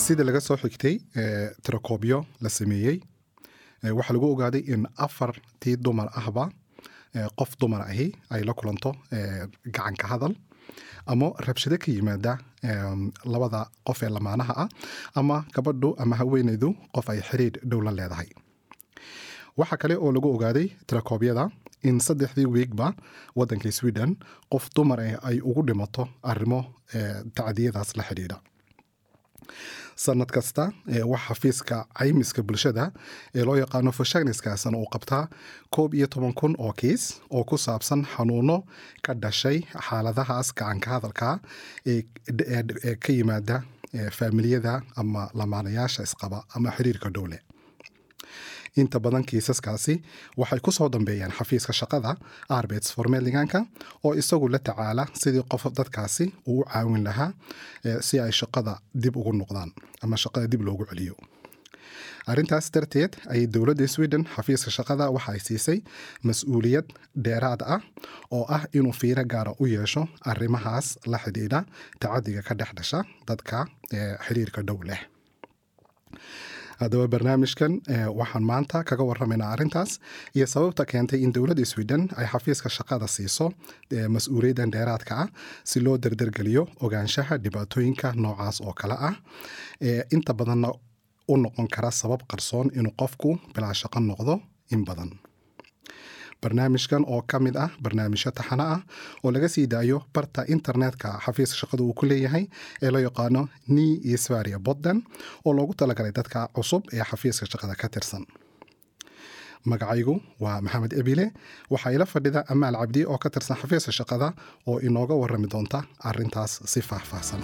sida laga soo xigtay tirakoobyo la sameeyey waxaa lagu ogaaday in 4 dumar ahba qof dumar ahi ay la kulanto gacan ka hadal ama rabshado ka yimaada labada qof ee lamaanaha ah ama gabadhu ama haweeneydu qof ay xiriir dhow la leedahay. waxa kale oo lagu ogaaday tirakoobyada in 3 weekba wadanka Sweden qof dumar ay ugu dhimato arrimo tacdiyadaas la xiriira. sanad kasta waxa xafiiska caymiska bulshada ee loo yaqaano Försäkringskassan uu qabtaa 11,000 oo kiis oo ku saabsan xanuuno ka dhashay xaaladahaas gacan ka hadalka ee ka yimaada familiyada ama lamaanayaasha isqaba ama xiriirka dowle. inta badan kiisaskaasi waxay ku soo dambeeyaan xafiiska shaqada Arbetsförmedlinganka oo isagu la tacaala sidii qof dadkaasi uu caawin lahaa si ay shaqada dib ugu noqdaan ama shaqada dib loogu celiyo. arrintaas darteed ay dowladda Sweden xafiiska shaqada waxa ay siisay mas'uuliyad dheeraad ah oo ah inuu fiiro gaar ah u yeesho arrimahaas la xidhiidha tacadiga ka dhex dhasha dadka xiriirka dhow leh. haddaba barnaamijkan waxaan maanta kaga warramaynaa arrintaas iyo sababta keentay in dowladda Sweden ay xafiiska shaqada siiso mas'uuliyaddan dheeraadka ah si loo dardargeliyo ogaanshaha dhibaatooyinka noocaas oo kale ah inta badanna u noqon kara sabab qarsoon inuu qofku bilaa shaqo noqdo in badan. barnaamijkan oo ka mid ah barnaamijyo taxane ah oo laga sii daayo barta internetka xafiiska shaqada uu ku leeyahay ee loo yaqaano Ni i Sverige Podden oo loogu talagalay dadka cusub ee xafiiska shaqada ka tirsan. magacaygu waa Maxamed Ebile waxaa ila fadhida Amaal Cabdi oo ka tirsan xafiiska shaqada oo inooga warrami doonta arrintaas si faahfaahsan.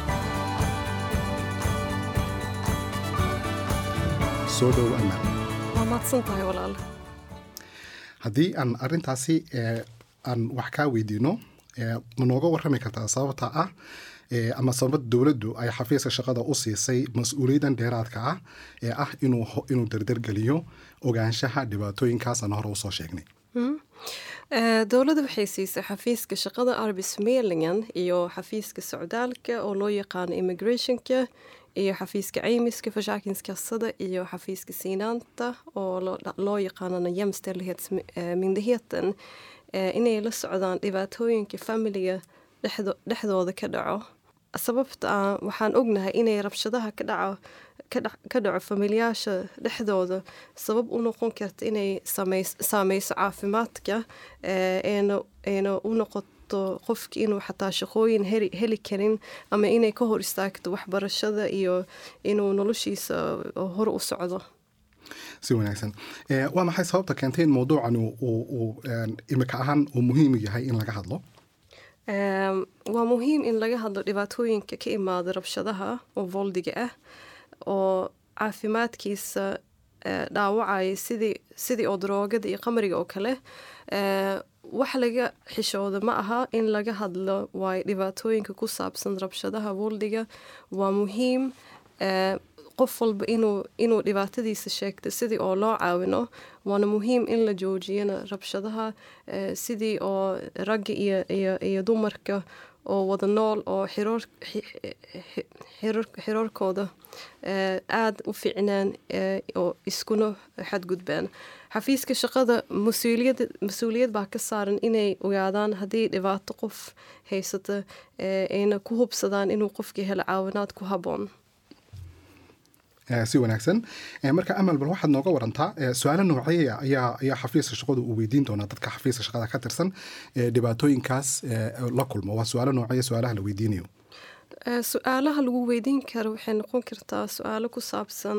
soo dhow Amaal. waa mahadsantahay walaal. haddii aan arrintaasi aan wax kaa weydiino ma nooga warrami kartaa sababta ah ama sababta dowladdu ay xafiiska shaqada u siisay mas'uuliyaddan dheeraadka ah ee ah inuu dardargeliyo ogaanshaha dhibaatooyinkaas aan hore usoo sheegnay. dowladda waxay siisay xafiiska shaqada Arbetsförmedlingen iyo xafiiska socdaalka oo loo yaqaano immigrationka iyo xafiiska caymiska Försäkringskassan iyo xafiiska sinaanta oo loo yaqaano Jämställdhetsmyndigheten inay la socdaan dhibaatooyinka familiga dhexdooda ka dhaco. sababta waxaan ognahay inay rabshadaha ka dhaco familiyaasha dhexdooda sabab u noqon karta inay saameyso caafimaadka eena u noqoto qofki inuu xataa shaqooyin heli karin ama inay ka hor istaagto waxbarashada iyo inuu noloshiisa hor u socdo. si wanaagsan waa maxay sababta keentay in mawduucan uu imika ahaan uu muhiim yahay in laga hadlo? waa muhiim in laga hadlo dhibaatooyinka ka imaada rabshadaha oo voldiga ah oo caafimaadkiisa dhaawacaya sidii oo daroogada iyo qamriga oo kale. wax laga xishooda ma aha in laga hadlo waayo dhibaatooyinka ku saabsan rabshadaha voldiga waa muhiim qof walba inuu dhibaatadiisa sheegto sidii oo loo caawino. waana muhiim in la joojiyana rabshadaha sidii oo ragga iyo dumarka oo wada nool oo xiriirkooda aad u fiicnaan oo iskuna xadgudbaan. xafiiska shaqada mas-uuliyad baa ka saaran inay ogaadaan haddii dhibaato qof haysata ayna ku hubsadaan inuu qofkii helo caawinaad ku habboon. si wanaagsan marka Amal bal waxaad nooga warantaa su'aalo noocay ayaa xafiiska shaqadu uu weydiin doonaa dadka xafiiska shaqada ka tirsan dhibaatooyinkaas la kulmo. waa su'aalo noocay su'aalaha la weydiinayo? su'aalaha lagu weydiin karo waxay noqon kartaa su'aalo ku saabsan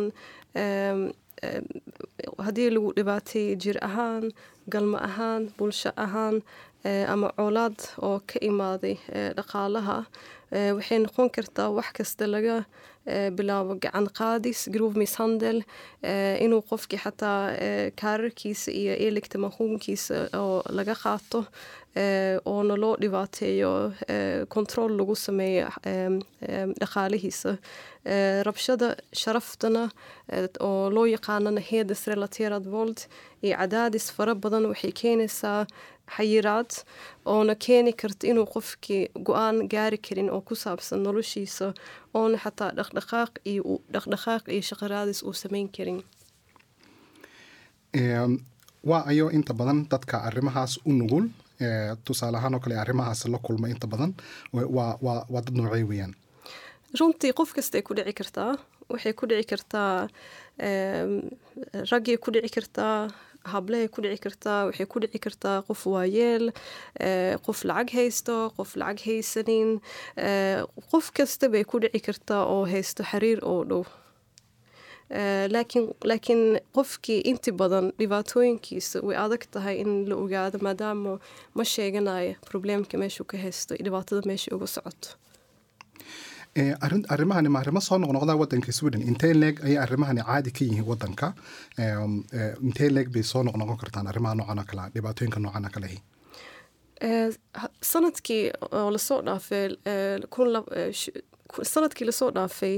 haddii lagu dhibaatay jir ahaan, galmo ahaan, bulsho ahaan ama colaad oo ka imaaday dhaqaalaha. waxay noqon kartaa wax kasta laga bilaabo gacan qaadis, grov misshandel, inuu qofkii xataa kaararkiisa iyo elektromagnetkiisa oo laga qaato, oona loo dhibaateeyo kontrol lagu sameeyo dhaqaalihiisa rabshada sharaftana oo loo yaqaanana hedersrelaterad våld iyo cadaadis fara badan waxay keenaysaa xayiraad oona keeni karta inuu qofkii go-aan gaari karin oo ku saabsan noloshiisa oona xataa dhaqdhaqaaq iyo shaqaraadis uu samayn karin. waa ayo inta badan dadka arrimahaas u nugul tusaale ahaan oo kale arrimahaas la kulma inta badan waa dad noocay weeyaan? runtii qof kastay ku dhici kartaa. waxay ku dhici kartaa raggay ku dhici kartaa, hablehay ku dhici kartaa, waxay ku dhici kartaa qof waayeel, qof lacag haysto, qof lacag haysanin, qof kasta bay ku dhici kartaa oo haysto xiriir oo dhow. laakiin qofkii inti badan dhibaatooyinkiisa way adag tahay in la ogaado maadaama ma sheeganayo problemka meeshuu ka haysto dhibaatada meesha uga socoto. arrimahani ma arrimo soo noqnoqdaa waddanka Sweden? intee leeg ayay arrimahani caadi ka yihiin waddanka? intee leeg bay soo noqnoqon kartaan arrimaha noocan oo kale dhibaatooyinka noocan oo kale? sanadkii oo lasoo dhaafay sanadkii lasoo dhaafay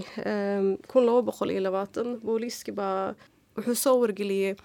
2020 booliiskii baa wuxuu soo wargeliyey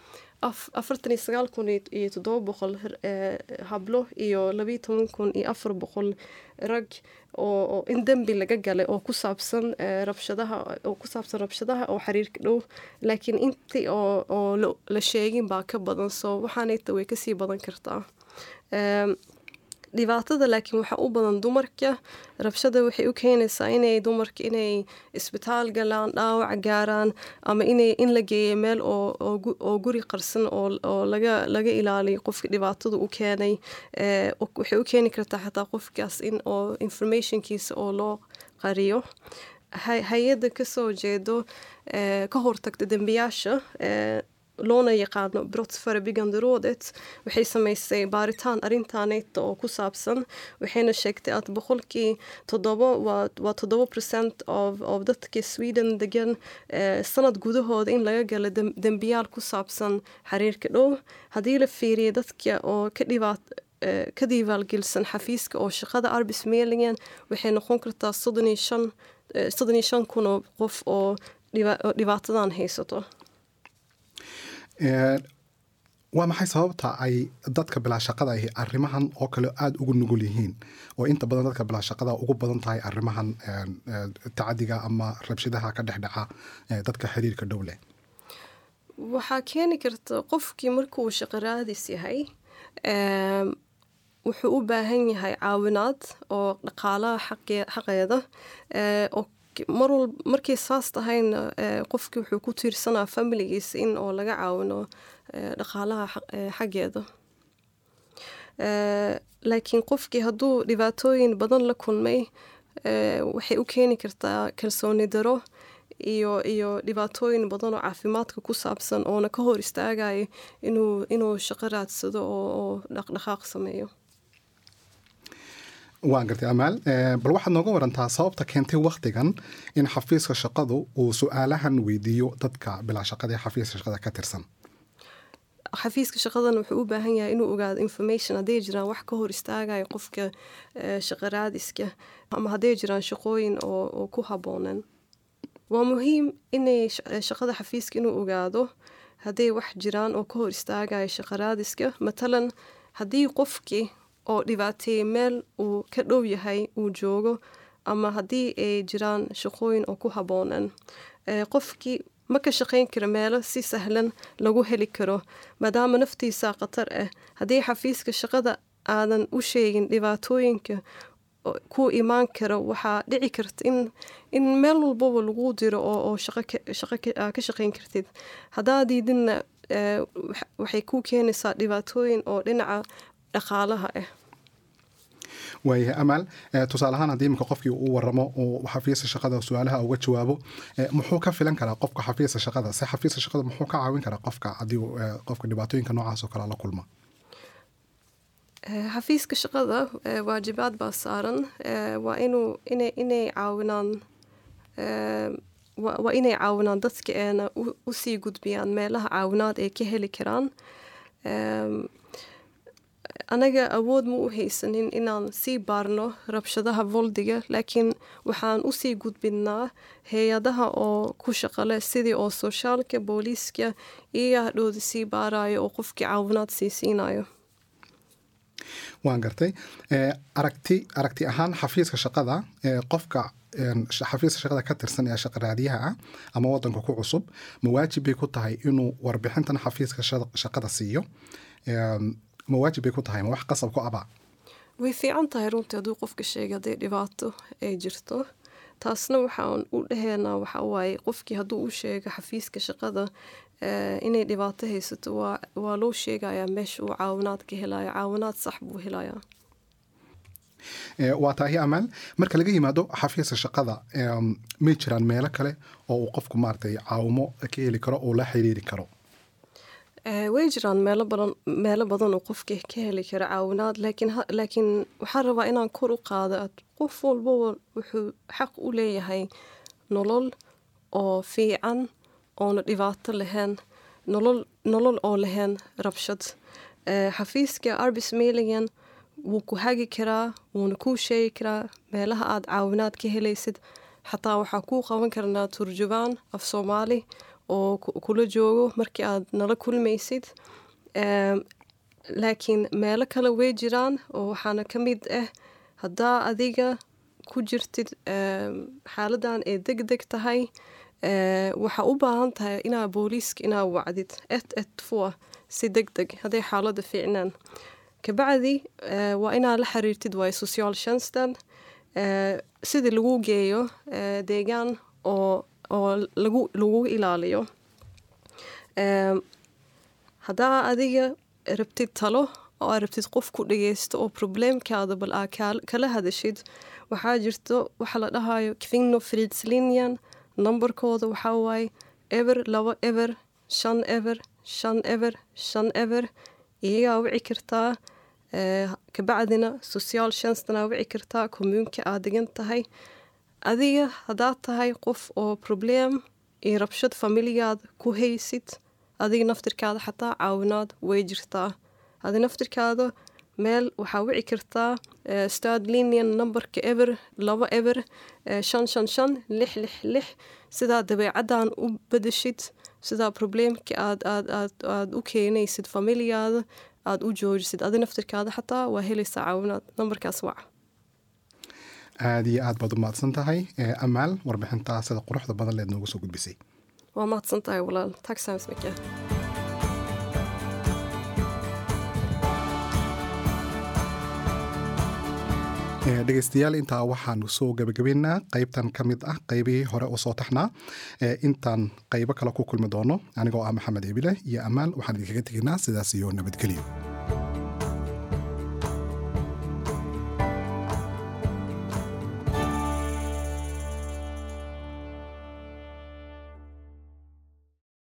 49,700 hablo iyo 12,400 rag oo in dembi laga galay oo ku saabsan rabshadaha oo xiriirka dhow, laakiin intii oo la sheegin baa ka badan, soo waxaanayta way kasii badan kartaa. dhibaatada laakiin waxaa u badan dumarka. rabshada waxay u keenaysaa inay dumarka inay isbitaal galaan, dhaawac gaaraan, ama in la geeyo meel oo guri qarsan oo laga ilaaliyo qofka dhibaatada u keenay. waxay u keeni kartaa xataa qofkaas in oo informationkiisa oo loo qariyo. hay-adda kasoo jeedo ka hortagta dembiyaasha loona yaqaano Brottsförebyggande rådet waxay samaysay baaritaan arrintaanayta oo ku saabsan. waxayna sheegtay at 7% of dadka Sweden degan sanad gudahooda in laga gala dembiyaal ku saabsan xiriirka dhow. haddii la fiiriyo dadka oo ka diiwaangelsan xafiiska oo shaqada Arbetsförmedlingen waxay noqon kartaa 35,000 oo qof oo dhibaatadan haysato. waa maxay sababta ay dadka bilaa shaqada ahi arrimahan oo kale aada ugu nugul yihiin oo inta badan dadka bilaa shaqada ugu badan tahay arrimahan tacadiga ama rabshadaha ka dhexdhaca dadka xiriirka dhow leh? waxaa keeni karta qofkii markuu shaqo raadis yahay wuxuu u baahan yahay caawinaad oo dhaqaalaha xaqeeda oo markay saas tahayna qofkii wuxuu ku tiirsanaa familigiisa in oo laga caawino dhaqaalaha xaggeeda. laakiin qofkii hadduu dhibaatooyin badan la kulmay waxay u keeni kartaa kalsooni daro iyo dhibaatooyin badan oo caafimaadka ku saabsan oona ka hor istaagayo inuu shaqo raadsado oo dhaqdhaqaaq sameeyo. waan gartay Amaal, bal waxaad nooga warantaa sababta keentay waqtigan in xafiiska shaqadu uu su'aalahan weydiiyo dadka bilaa shaqada ee xafiiska shaqada ka tirsan? xafiiska shaqadan wuxuu u baahan yahay inuu ogaado information hadday jiraan wax ka hor istaagayo qofka shaqo raadiska ama hadday jiraan shaqooyin oo ku habboonan. waa muhiim inay shaqada xafiiska inuu ogaado hadday wax jiraan oo ka hor istaagayo shaqo raadiska. matalan haddii qofkii oo dhibaateeyey meel uu ka dhow yahay uu joogo, ama haddii ay jiraan shaqooyin oo ku habboonan. qofkii ma ka shaqayn karo meelo si sahlan lagu heli karo maadaama naftiisa khatar ah. haddii xafiiska shaqada aadan u sheegin dhibaatooyinka ku imaan karo, waxaa dhici karta in meel walbaba lagu diro oo shaqo ka shaqayn kartid. haddaa diidinna waxay ku keenaysaa dhibaatooyin oo dhinaca dhaqaalaha ah. waayahay Amaal, tusaale ahaan haddii iminka qofkii uu waramo oo xafiiska shaqada su-aalaha uga jawaabo, muxuu ka filan karaa qofka xafiiska shaqada? se xafiiska shaqada muxuu ka caawin karaa qofka haddii qofka dhibaatooyinka noocaas oo kale la kulma? xafiiska shaqada waajibaad baa saaran. waa inay caawinaan waa inay caawinaan dadka eena u sii gudbiyaan meelaha caawinaad ay ka heli karaan. anaga awood ma u haysanin inaan sii baarno rabshadaha voldiga, laakiin waxaan u sii gudbinaa hay-adaha oo ku shaqale sidii oo soshaalka, booliiska iyo hadhowda sii baarayo oo qofkii caawinaad sii siinayo. waan gartay. aragti ahaan xafiiska shaqada, qofka xafiiska shaqada ka tirsan ee shaqa raadiyaha ah ama wadanka ku cusub, ma waajib bay ku tahay inuu warbixintan xafiiska shaqada siiyo? ma waajib bay ku tahay, ma wax qasab ku aba? way fiican tahay runtii hadduu qofka sheega hadday dhibaato ay jirto. taasna waxaan u dhaheynaa waxa waaye qofkii hadduu u sheego xafiiska shaqada inay dhibaato haysato, waa loo sheegayaa meesha uu caawinaad ka helayo, caawinaad sax buu helayaa. waa tahay Amaal, marka laga yimaado xafiiska shaqada, may jiraan meelo kale oo uu qofku maaragtay caawimo ka heli karo oo la xiriiri karo? way jiraan meelo badan oo qofka ka heli kara caawinaad, laakiin waxaan rabaa inaan kor u qaado qof walba wuxuu xaq u leeyahay nolol oo fiican oona dhibaato lahayn, nolol oo lahayn rabshad. xafiiska arbetsförmedlingen wuu ku hagi karaa, wuuna kuu sheegi karaa meelaha aad caawinaad ka helaysid. xataa waxaa kuu qaban karnaa turjubaan af Soomaali oo kula joogo markii aad nala kulmaysid. laakiin meelo kale way jiraan oo waxaana ka mid ah haddaa adiga ku jirtid xaaladan ay degdeg tahay, waxaa u baahan tahay inaa booliiska inaa wacdid 112 si degdeg hadday xaalada fiicnaan. kabacdi waa inaa la xiriirtid waay socialtjänsten sidii lagu geeyo deegaan oo lagu ilaaliyo. haddaa adiga rabtid talo oo aad rabtid qof ku dhageysto oo probleemkaada bal aa kala hadashid, waxaa jirto waxa la dhahayo kvinnofridslinjen. nambarkooda waxaa waaye 2 ever 5 ever 5 ever 5 ever. iyagaa wici kartaa, kabacdina socialtjänstenaa wici kartaa kommunka aad degan tahay. adiga haddaad tahay qof oo probleem iyo rabshad familigaada ku haysid, adiga naftirkaada xataa caawinaad way jirtaa. adiga naftirkaada meel waxaa wici kartaa stadlinjen nambarka 2 ever 555 666 sidaa dabeecaddan u bedeshid, sidaa probleemka aad u keenaysid familigaada aad u joojisid. adiga naftirkaada xataa waa helaysaa caawinaad. nambarkaas waca. aad iyo aad baad u mahadsan tahay Amaal, warbixintaa sida quruxda badan leed noogu soo gudbisay. waa mahadsan tahay walaal. tack så hemskt mycket. dhegeystayaal, intaa waxaanu soo gabagabaynaa qaybtan ka mid ah qaybihii hore oo soo taxnaa. intaan qaybo kale ku kulmi doono, anigoo ah Maxamed Ebile iyo Amaal, waxaan idinkaga tegaynaa sidaas iyo nabadgelyo.